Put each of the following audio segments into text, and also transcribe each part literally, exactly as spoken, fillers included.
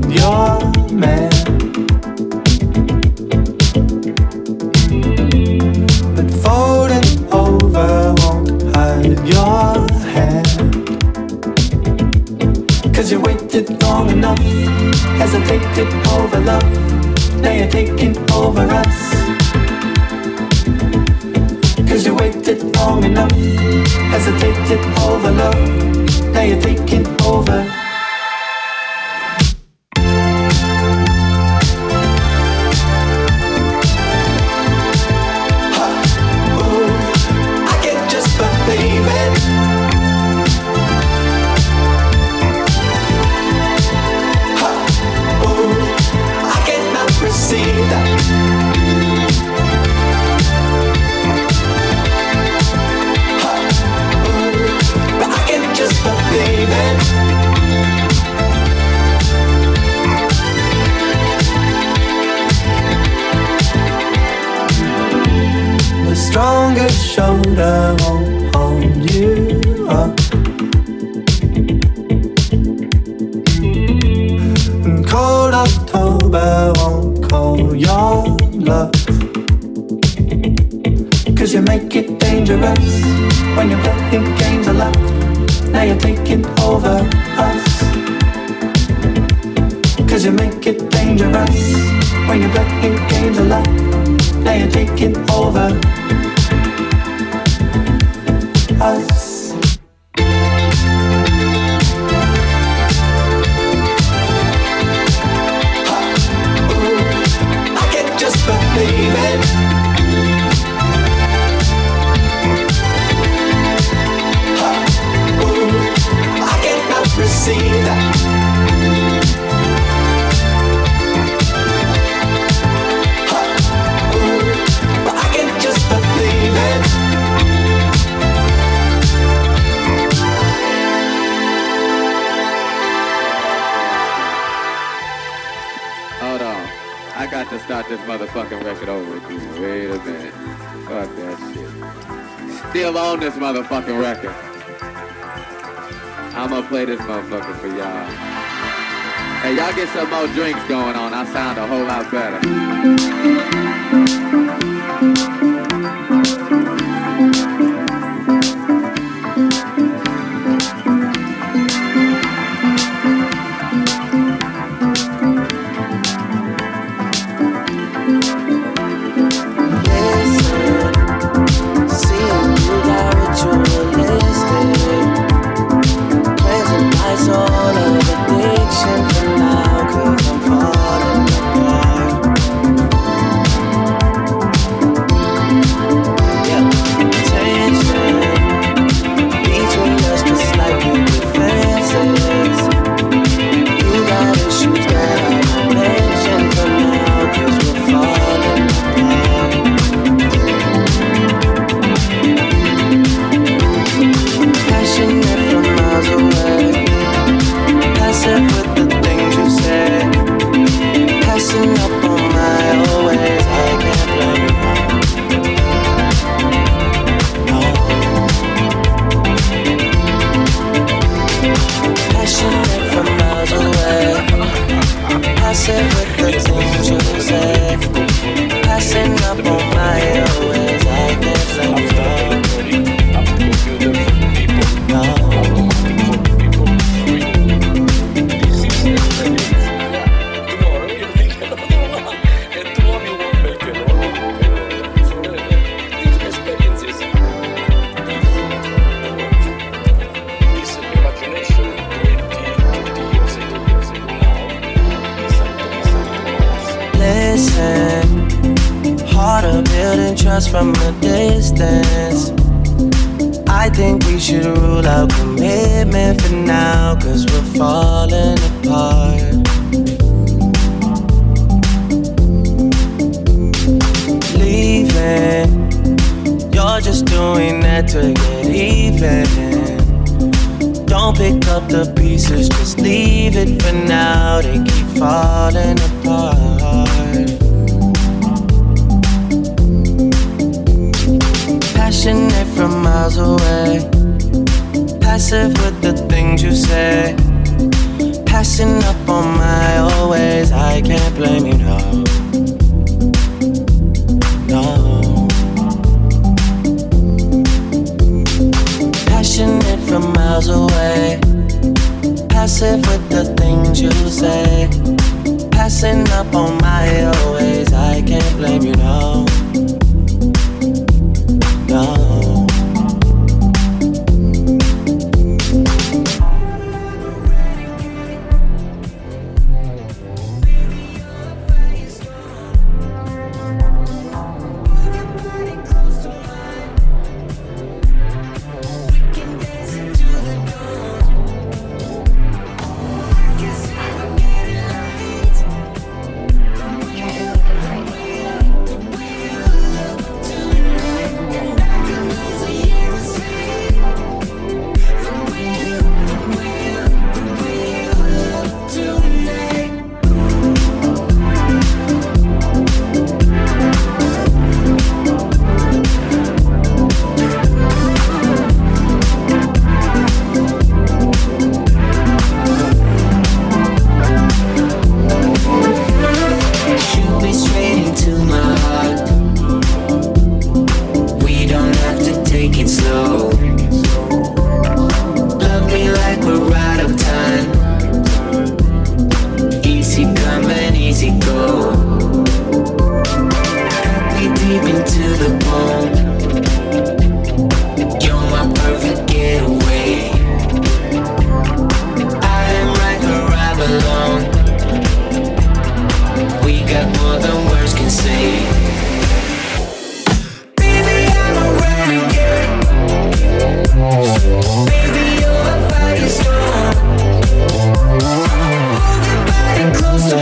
your man. But folding over won't hide your hand. Cause you waited long enough, hesitated over love. Now you're taking over us. Cause you waited long enough, hesitated over love. Now you're taking over. Strongest shoulder won't hold you up, and cold October won't call your bluff. Cause you make it dangerous when you're playing games of love. Now you're taking over us. Cause you make it dangerous when you're playing games of love. Now you're taking over us. I can't just believe it. I cannot receive that. But I can't just believe it. Hold on. I got to start this motherfucking record over again. Wait a minute. Fuck that shit. Still on this motherfucking record. I'm gonna play this motherfucker for y'all. Hey, y'all get some more drinks going on. I sound a whole lot better. From a distance, I think we should rule out commitment for now, cause we're falling apart. Leaving, you're just doing that to get even. Don't pick up the pieces, just leave it for now. They keep falling apart. Passionate from miles away, passive with the things you say. Passing up on my old ways, I can't blame you, no. No. Passionate from miles away, passive with the things you say. Passing up on my old ways, I can't blame you, no. No.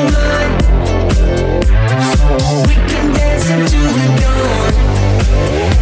We can dance into the dawn.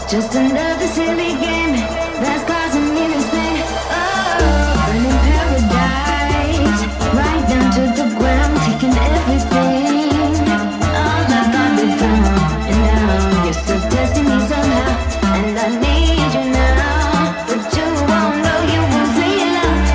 just another silly game that's causing me despair. Oh, burning paradise, right down to the ground, taking everything. All I thought before, and now you're still testing me somehow, and I need you now, but you won't know you won't really love me.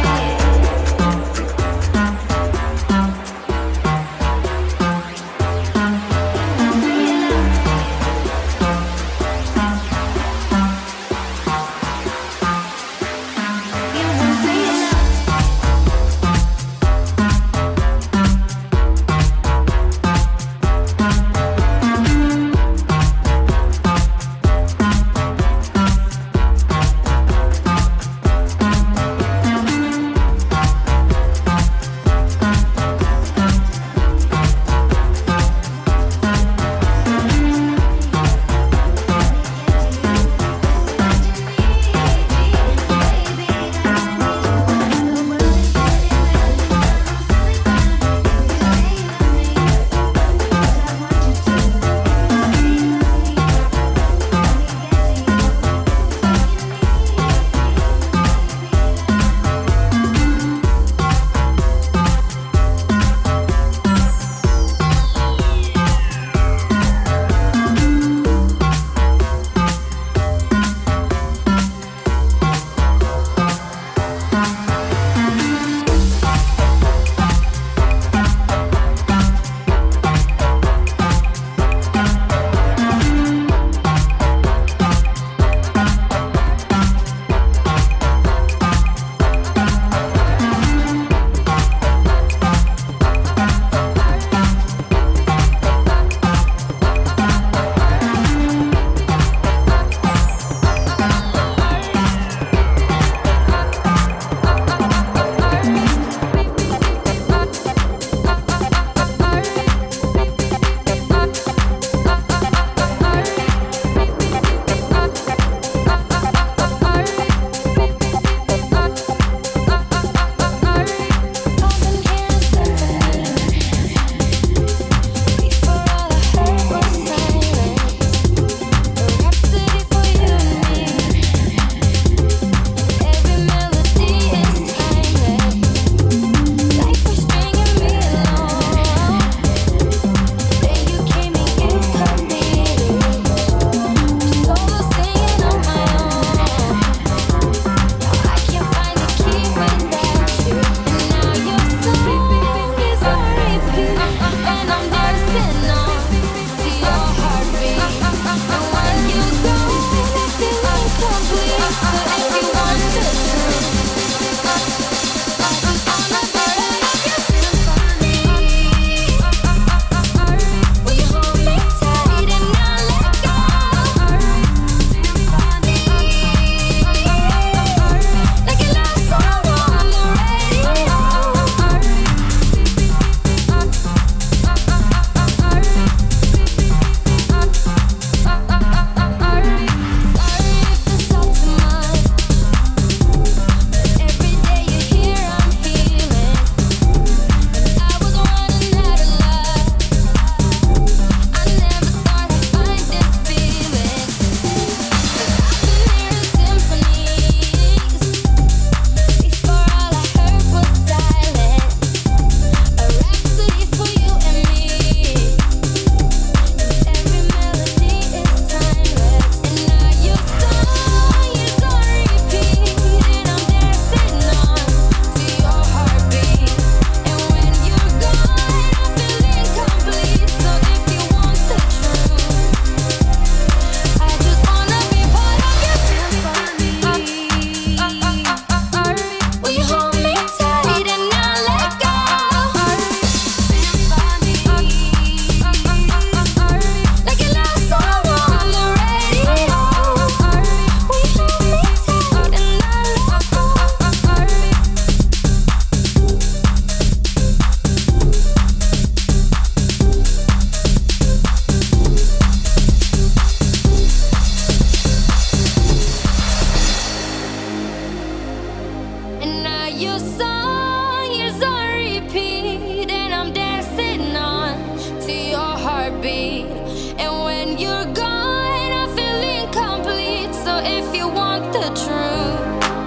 if you want the truth.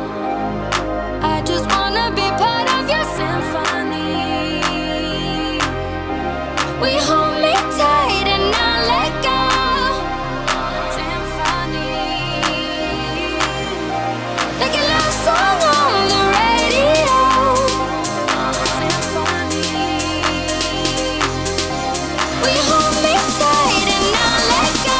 I just wanna be part of your symphony. We hold me tight and not let go. Symphony. Like a love song on the radio. Symphony. We hold me tight and not let go.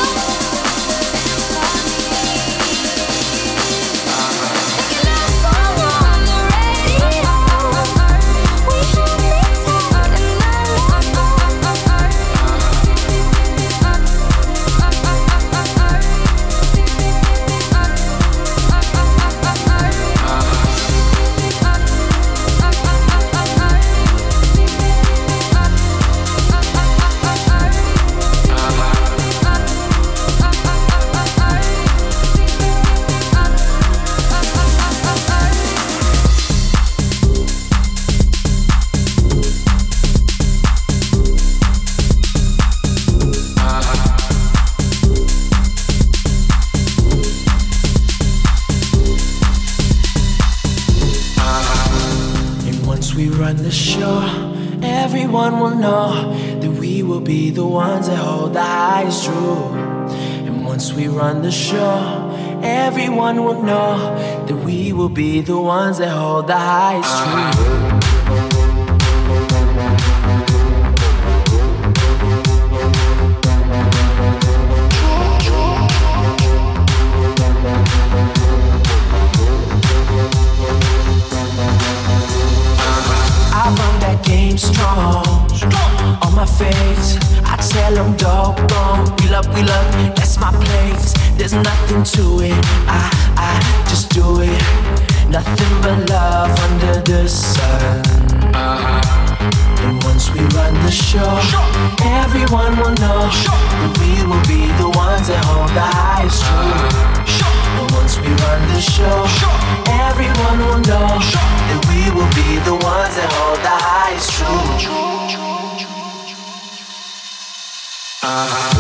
Everyone will know that we will be the ones that hold the highest truth. And once we run the show, everyone will know that we will be the ones that hold the highest truth. Strong, on my face, I tell them dog gone. We love, we love, that's my place. There's nothing to it, I, I just do it. Nothing but love under the sun. Uh-huh. And once we run the show, everyone will know that we will be the ones that hold the highest truth. And once we run the show, everyone will know that we will be the ones that hold the highest truth. Uh-huh.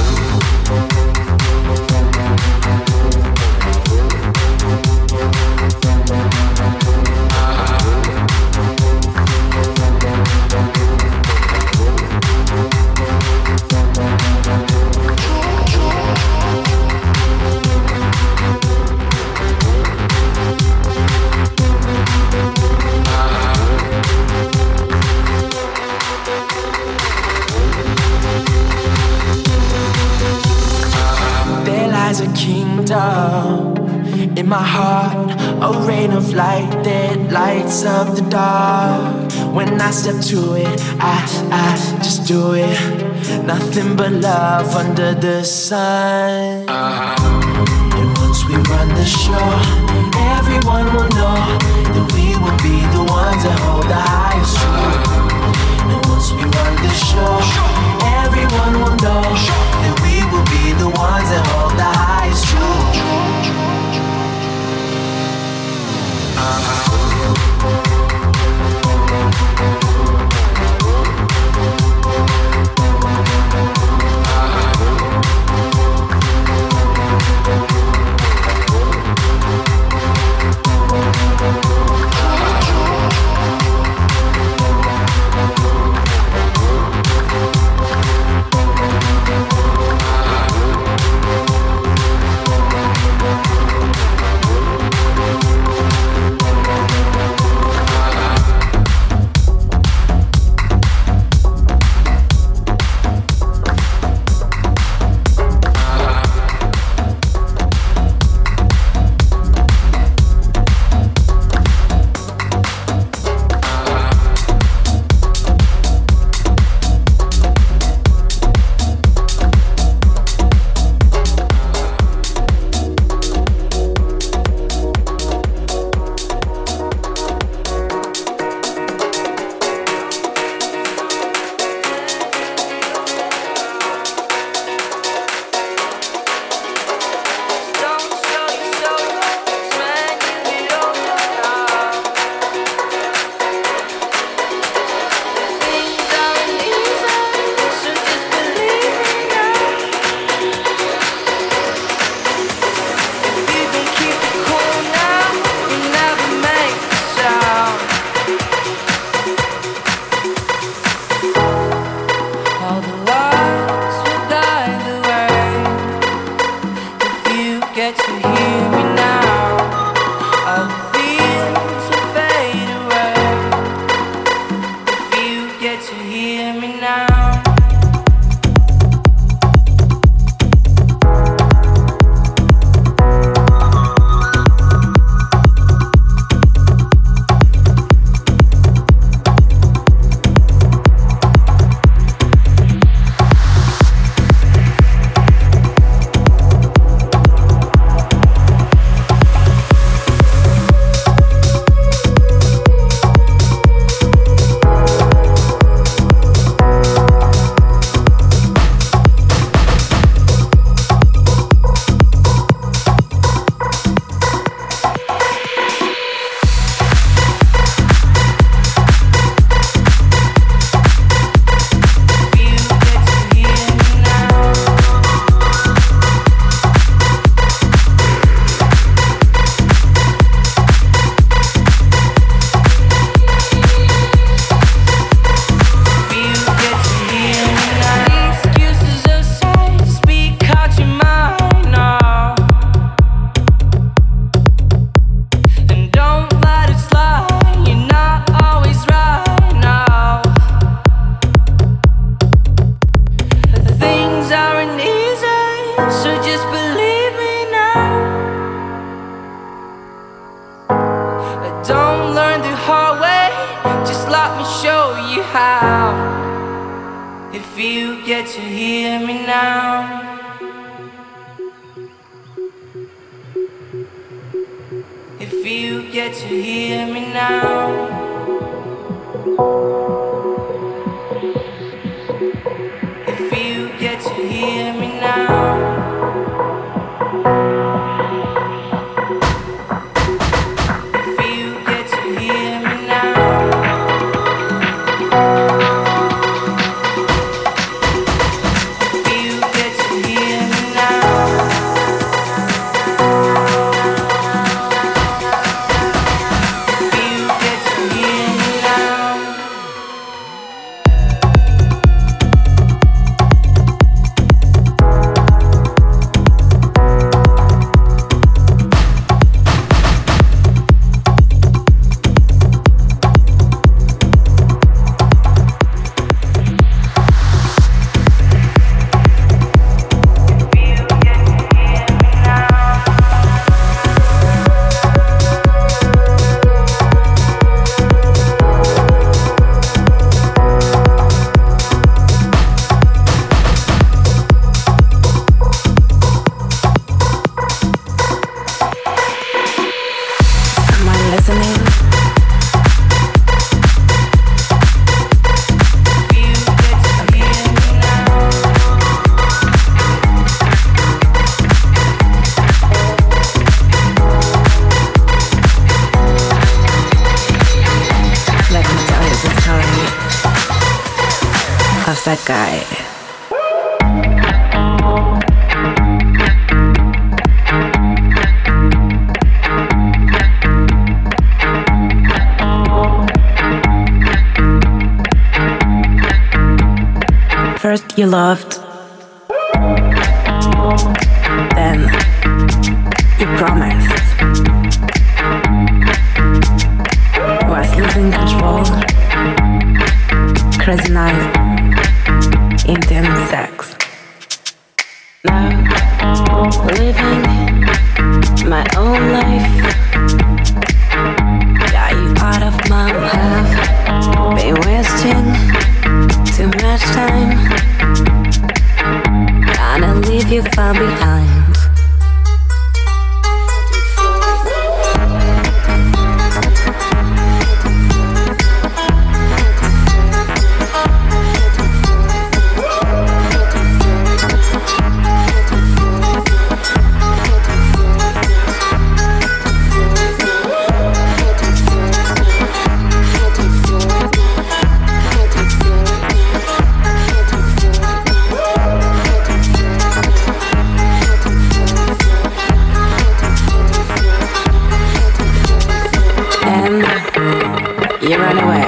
A kingdom in my heart, a rain of light that lights up the dark. When I step to it, I, I just do it. Nothing but love under the sun. Uh-huh. And once we run the show, everyone will know that we will be the ones that hold the highest truth. And once we run the show, everyone will know that we will be the ones that hold the highest truth. Uh-huh. get to hear me now, all the feelings will fade away. If you get to hear me now. That guy. First you loved, then you promised, was losing control, crazy night, intense sex. Now, living my own life, got you out of my path, been wasting too much time, gonna leave you far behind. You run away.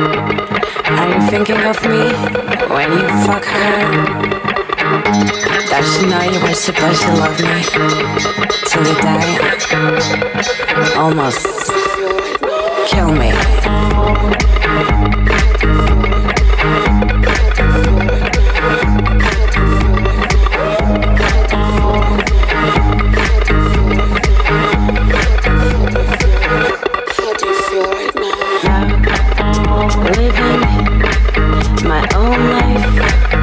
Are you thinking of me when you fuck her? supposed to know you were supposed to love me till the day almost kill me. Living my own life,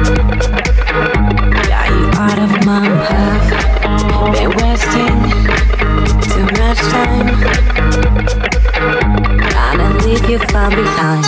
got you out of my path. Been wasting too much time, gotta leave you far behind.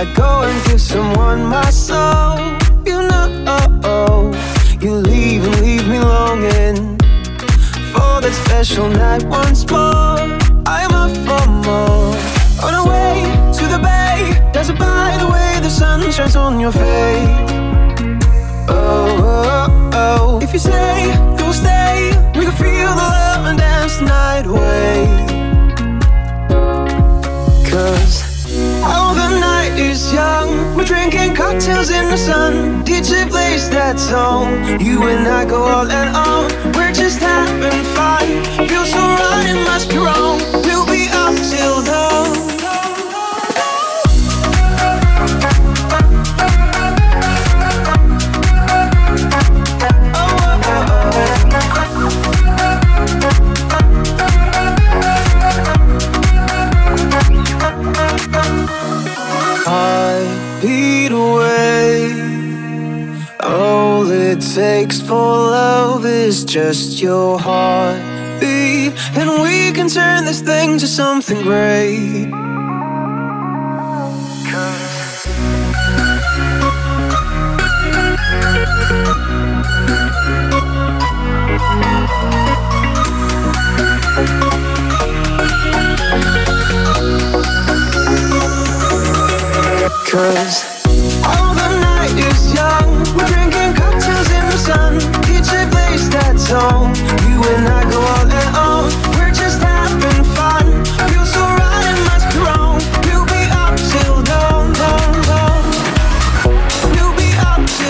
I'd go and give someone my soul. You know, you leave and leave me longing for that special night once more. I'm up for more. On our way to the bay, dazzled by the way the sun shines on your face. Oh, oh, oh. If you say you'll stay, we can feel the love and dance the night away. Cause oh, the night is young, we're drinking cocktails in the sun. D J plays that song, you and I go all and on. We're just having fun, feels so right, it must be wrong. We'll be up till dawn. Heartbeat away. All it takes for love is just your heartbeat, and we can turn this thing to something great. Cause all the night is young, we're drinking cocktails in the sun. D J plays that song, you and I go all and on. We're just having fun, feels so right, it must be wrong. We'll be up till dawn, dawn, dawn. We'll be up till dawn.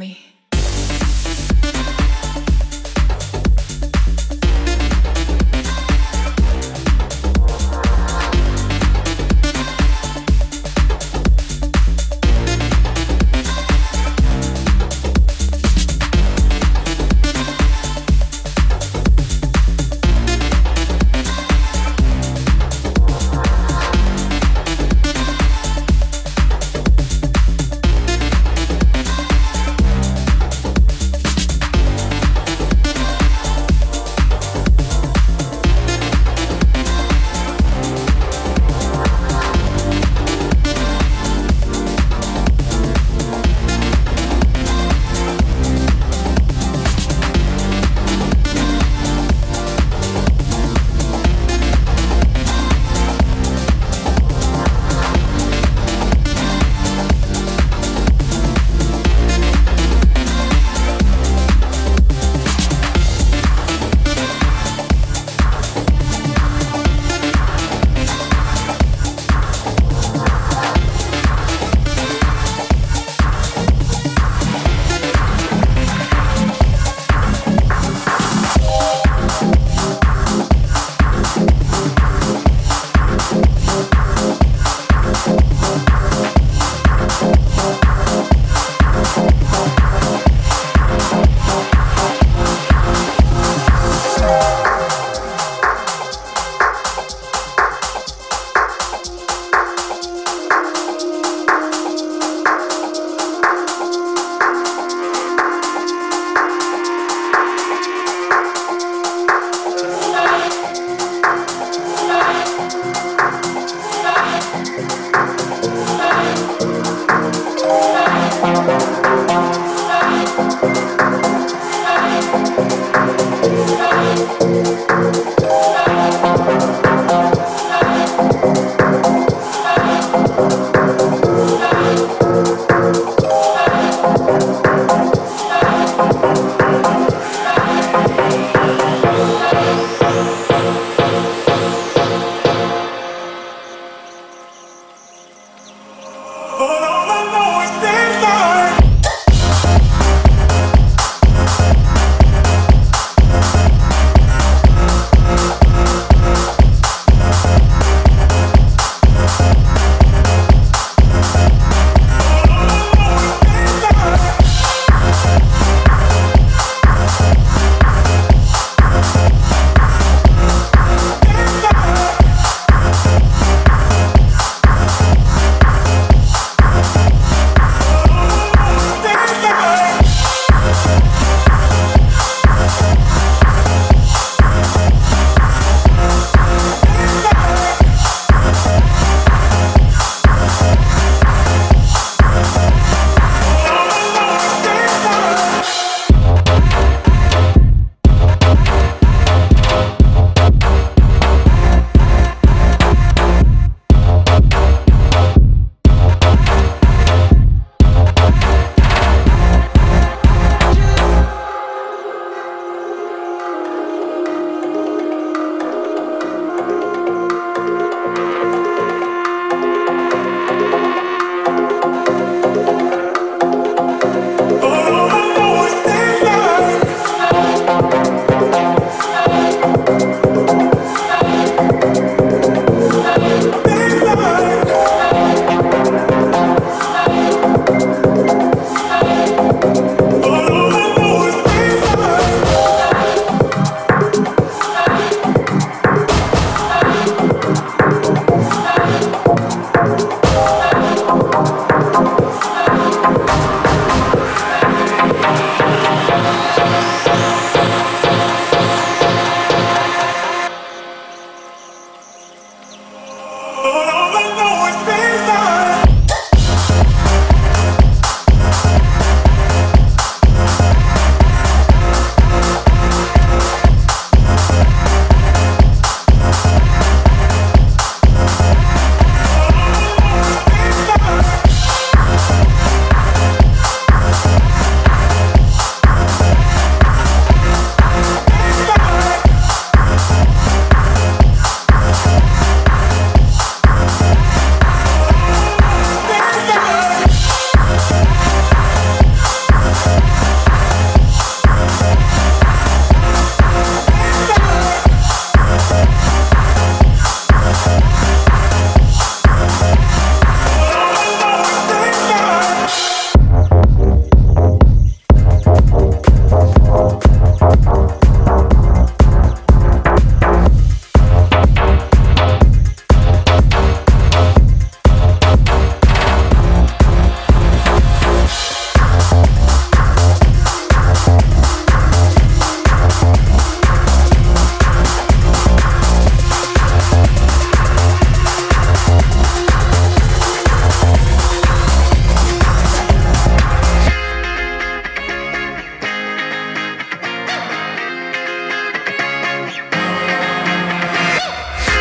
me.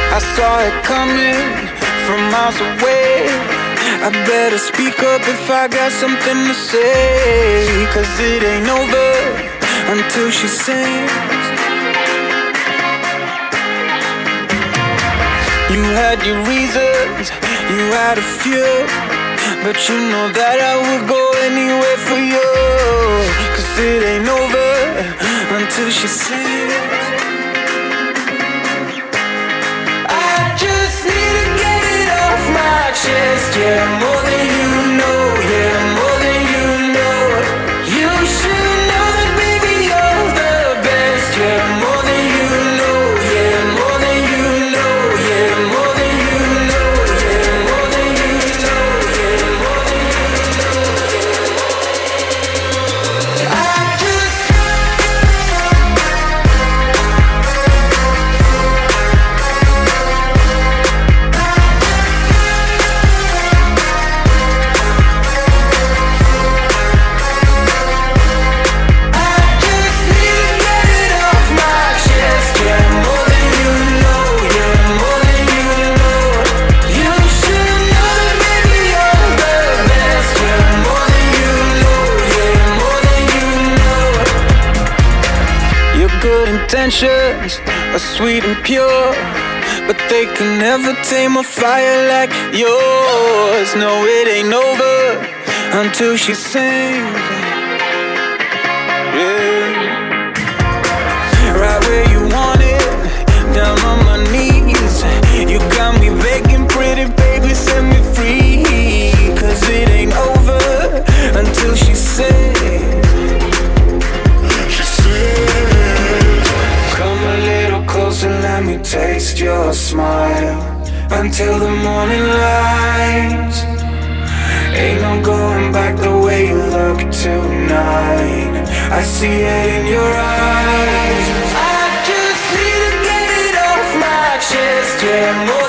I saw it coming from miles away. I better speak up if I got something to say, 'cause it ain't over until she sings. You had your reasons, you had a few, but you know that I would go anywhere for you, 'cause it ain't over until she sings. I just need to get it off my chest, yeah, more than you know, yeah, more than you know. You should know that baby you're the best, yeah, more than you know, yeah, more than you know, yeah, more than you know, yeah, more than you know, yeah, more than you know, yeah. I just intentions are sweet and pure, but they can never tame a fire like yours. No, it ain't over until she sings. Yeah. Right where you want it, down on my knees. You got me begging, pretty baby, set me free, 'cause it ain't over until she sings. She sings. Come a little closer, let me taste your smile until the morning light. Ain't no going back the way you look tonight. I see it in your eyes. I just need to get it off my chest, yeah.